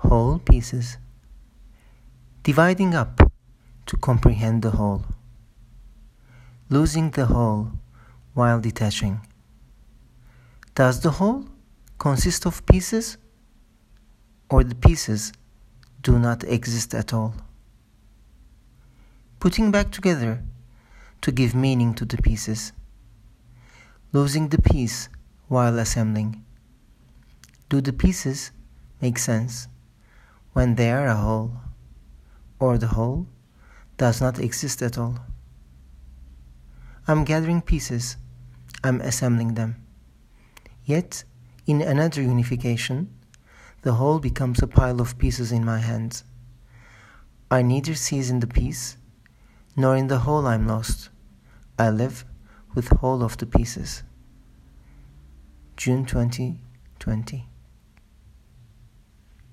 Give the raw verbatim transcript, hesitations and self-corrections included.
Whole pieces. Dividing up to comprehend the whole. Losing the whole while detaching. Does the whole consist of pieces, or the pieces do not exist at all? Putting back together to give meaning to the pieces. Losing the piece while assembling. Do the pieces make sense when they are a whole, or the whole does not exist at all? I'm gathering pieces, I'm assembling them. Yet, in another unification, the whole becomes a pile of pieces in my hands. I neither seize in the piece, nor in the whole I'm lost. I live with whole of the pieces. June twenty twenty